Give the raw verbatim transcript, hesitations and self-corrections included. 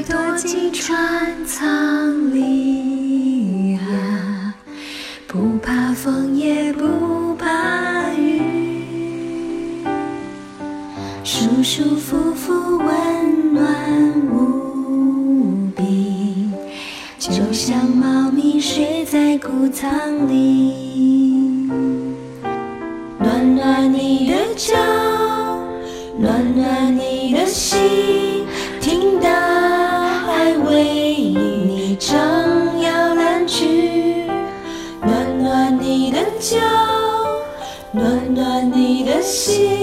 躲进川藏里啊，不怕风也不怕雨，舒舒服服温暖无比，就像猫咪睡在谷仓里。暖暖你的脚，暖暖你的心，听大海为你唱摇篮曲。暖暖你的脚，暖暖你的心，